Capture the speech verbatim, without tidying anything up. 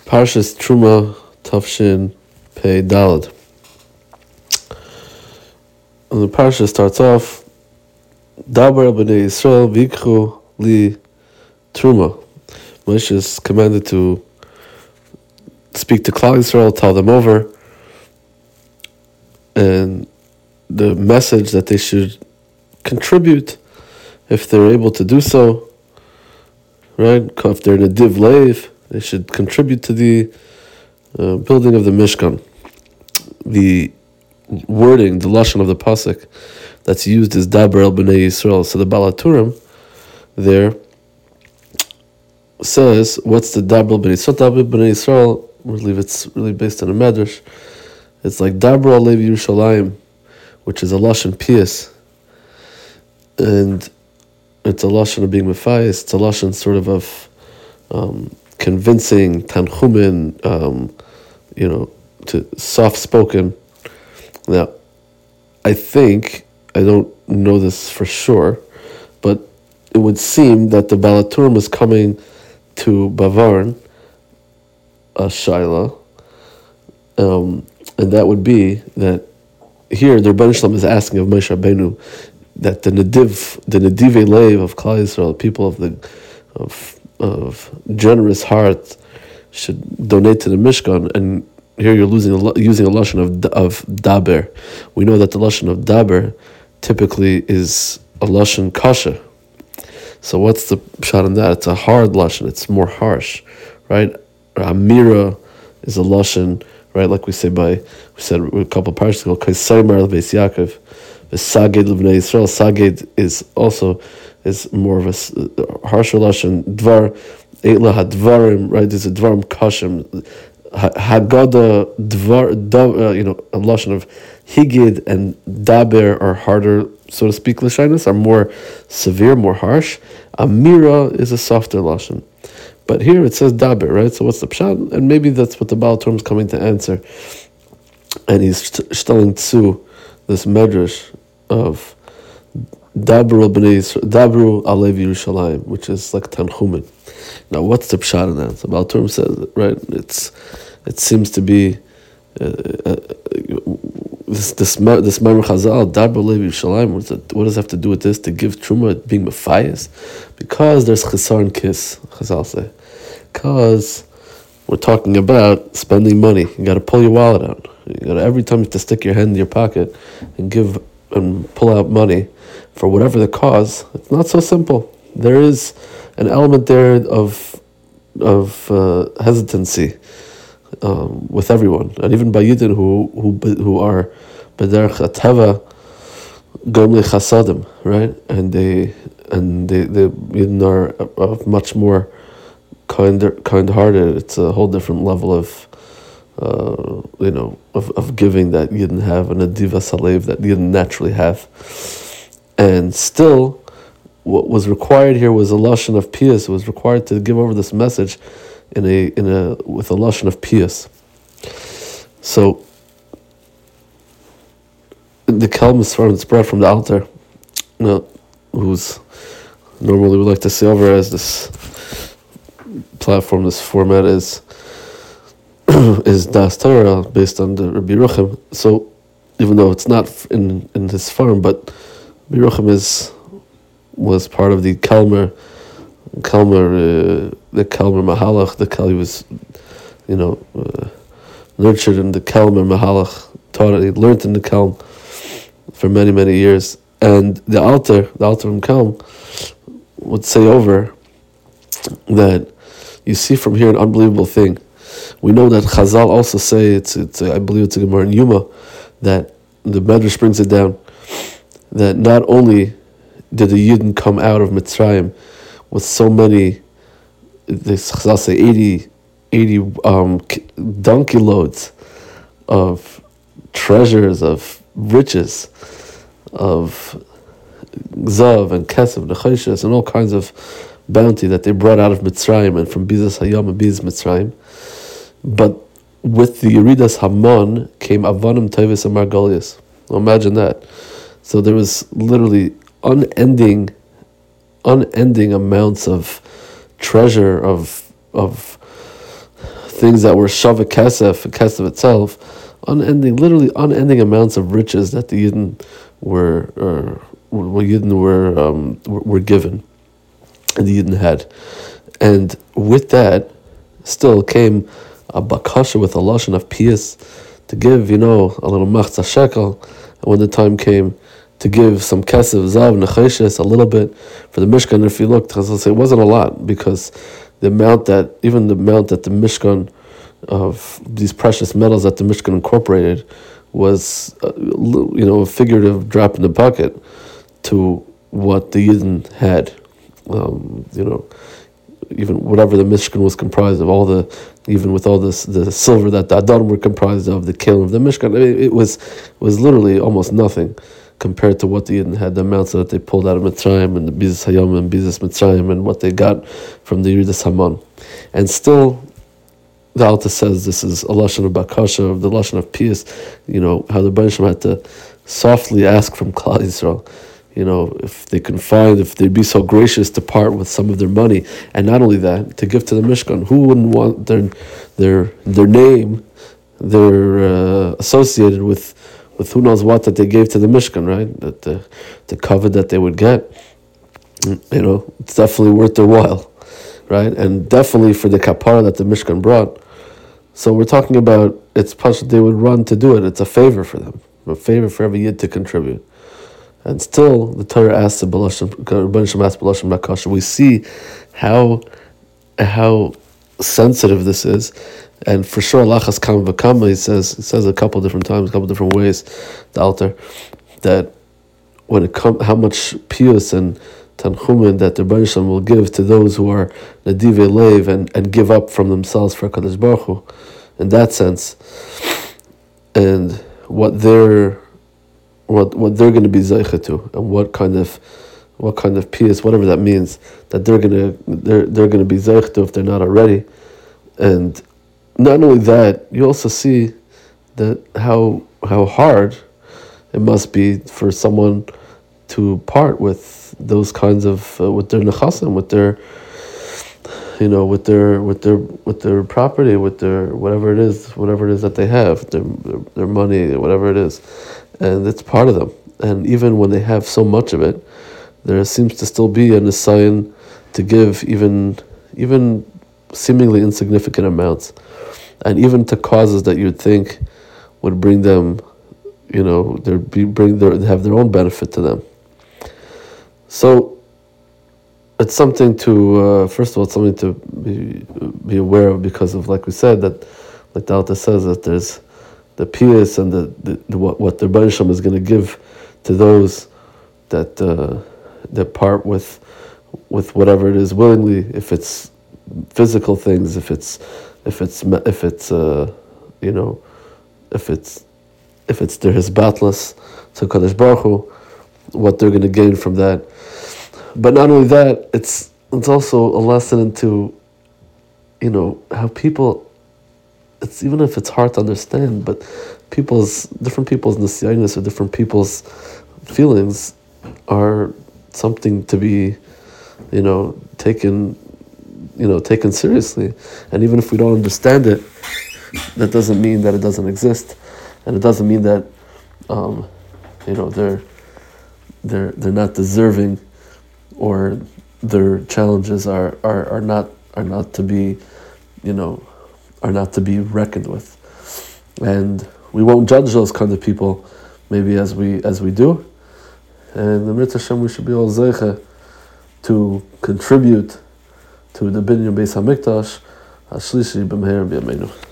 Parshas Truma Tafshin Pei Dalad. And the parsha starts off, Dabar b'nei Yisrael v'ikchu li Truma. Moshe is commanded to speak to Klal Yisrael, tell them over, and the message that they should contribute if they're able to do so, right? If they're in a div leiv, they should contribute to the uh, building of the Mishkan. The wording, the lashon of the pasuk that's used is Daber el b'nei Yisrael. So the Baal HaTurim there says, what's the Daber el b'nei Yisrael? Daber b'nei Yisrael, I believe it's really based on a medrash. It's like Daber al Levi Yerushalayim, which is a lashon pious, and it's a lashon of being mefayis. It's a lashon sort of of um, convincing, tanchumin, um, you know, to soft-spoken. Now, I think, I don't know this for sure, but it would seem that the Baal HaTurim is coming to Bavarn, a Shaila, um, and that would be that here the Rebbeinu Shalom is asking of Moshe Rabbeinu that the Nediv, the Nedivei Leiv of Klal Yisrael, people of the of of generous heart, should donate to the Mishkan. And here you're losing a, using a lashon of of daber. We know that the lashon of daber typically is a lashon kasha. So what's the pshat in that? It's a hard lashon. It's more harsh, right? Amira is a lashon, right? Like we say by we said a couple of parshas ago. Kaisayimar lebeis Yaakov, v'saged levnei Yisrael. Saged is also is more of a harsher lashon. Dvar eitla hadvarim, right? There's a dvarim kashim. Haggadah, dvar, uh, you know, a lashon of higid and daber are harder, so to speak. L'shainas are more severe, more harsh. Amira is a softer lashon, but here it says daber, right? So what's the pshat? And maybe that's what the Baal HaTurim is coming to answer. And he's telling Tzu this medrash of Dabru Dabru Alev Yerushalayim, which is like Tanchumin. Now, what's the pshat in that? So Baal HaTurim says, right? It's it seems to be uh, uh, this this this Maimon Chazal Dabru Alev Yerushalayim. What does it, what does it have to do with this? To give truma being mefayis, because there's chisar and kiss. Chazal say, because we're talking about spending money. You got to pull your wallet out. You got to every time you have to stick your hand in your pocket and give and pull out money for whatever the cause. It's not so simple. There is an element there of of uh, hesitancy um, with everyone, and even by Yidden who who who are b'derech hateva gomli chasadim, right? And they and they the Yidden are of much more kind kind-hearted. It's a whole different level of uh, you know of, of giving that you didn't have, and a diva salev that you didn't naturally have. And still, what was required here was a lashon of piyus. It was required to give over this message in a in a with a lashon of piyus. So the kelm is from it's brought from the altar, you know, who's normally we like to say over as this platform, this format is is Das Torah based on the Rabbi Yerucham. So even though it's not in in his farm, but Rabbi Yerucham is was part of the Kalmer, Kalmer, uh, the Kalmer Mahalach. The Kal he was, you know, uh, nurtured in the Kalmer Mahalach. Taught he learned in the Kalm for many many years. And the altar, the altar in Kalm, would say over that you see from here an unbelievable thing. We know that Chazal also say it's it's I believe it's a Gemara in Yuma that the Medrash brings it down that not only did the Yidden come out of Mitzrayim with so many, this Chazal say eighty, eighty um, donkey loads of treasures, of riches, of Zav and Kesef, Nechoshes, and all kinds of bounty that they brought out of Mitzrayim and from Bizas Hayam and Bizas Mitzrayim. But with the Yeridas Haman came Avanim Tevis and Margolius. Imagine that. So there was literally unending, unending amounts of treasure, of of things that were shava kesef, kesef itself, unending, literally unending amounts of riches that the Yidden were, or, were Yidden were, um, were were given, and the Yidden had, and with that, still came a bakasha with a lashon of pious to give, you know, a little machzah shekel, and when the time came to give some kesef, zav, necheshes, a little bit for the Mishkan. If you look, it wasn't a lot, because the amount that, even the amount that the Mishkan, of these precious metals that the Mishkan incorporated, was, uh, you know, a figurative drop in the bucket to what the Yidden had. Um, you know, even whatever the Mishkan was comprised of, all the, even with all this, the silver that the Adon were comprised of, the kelim of the Mishkan, I mean, it was, it was literally almost nothing compared to what the Yidden had, the amounts that they pulled out of Mitzrayim and the Bizas Hayom and Bizas Mitzrayim and what they got from the Yeridas Haman. And still, the Alta says this is a lashon of bakasha, of the lashon of pious, you know, how the Rebbeinu Shalom had to softly ask from Klal Yisrael, you know, if they can find, if they'd be so gracious to part with some of their money, and not only that, to give to the Mishkan. Who wouldn't want their their their name, their uh, associated with with who knows what that they gave to the Mishkan, right? That the the covet that they would get, you know, it's definitely worth their while, right? And definitely for the kapara that the Mishkan brought. So we're talking about, it's pasha they would run to do it. It's a favor for them, a favor for every Yid to contribute. And still, the Torah asks the Balashim, Rebbeinu Shalom asks Balashim Bakasha. We see how how sensitive this is. And for sure, Lachas Kam V'Kama, he says, he says a couple different times, a couple different ways, the Alter, that when it comes, how much pious and tanchumen that the Rebbeinu Shalom will give to those who are nadivei leiv and, and give up from themselves for HaKadosh Baruch Hu, in that sense, and what they're what what they're going to be zeicha to, and what kind of what kind of pious, whatever that means, that they're going to they're they're going to be zeicha to if they're not already. And not only that, you also see that how how hard it must be for someone to part with those kinds of uh, with their nechasim, with their you know with their with their with their property, with their whatever it is, whatever it is that they have, their their, their money, whatever it is, and it's part of them. And even when they have so much of it, there seems to still be a nisayon to give even even seemingly insignificant amounts, and even to causes that you'd think would bring them, you know, they be bring their have their own benefit to them. So it's something to uh, first of all, it's something to be be aware of, because of, like we said, that like the Alta says, that there's the pious and the, the, the what what the Rebbeinu Shalom is going to give to those that uh, that part with with whatever it is willingly, if it's physical things, if it's if it's if it's uh, you know if it's if it's their hisbatlas to Kadosh Baruch Hu, what they're going to gain from that. But not only that, it's it's also a lesson into, you know, how people, it's even if it's hard to understand, but people's different people's nisyanis or different people's feelings are something to be, you know, taken, you know, taken seriously. And even if we don't understand it, that doesn't mean that it doesn't exist, and it doesn't mean that, um, you know, they're they're they're not deserving, or their challenges are, are, are not are not to be, you know, are not to be reckoned with. And we won't judge those kind of people, maybe as we as we do. And the Mitzvah Hashem, we should be all zeicha to contribute to the Binyan Beis Hamikdash, Hashlishi b'meher b'yameinu.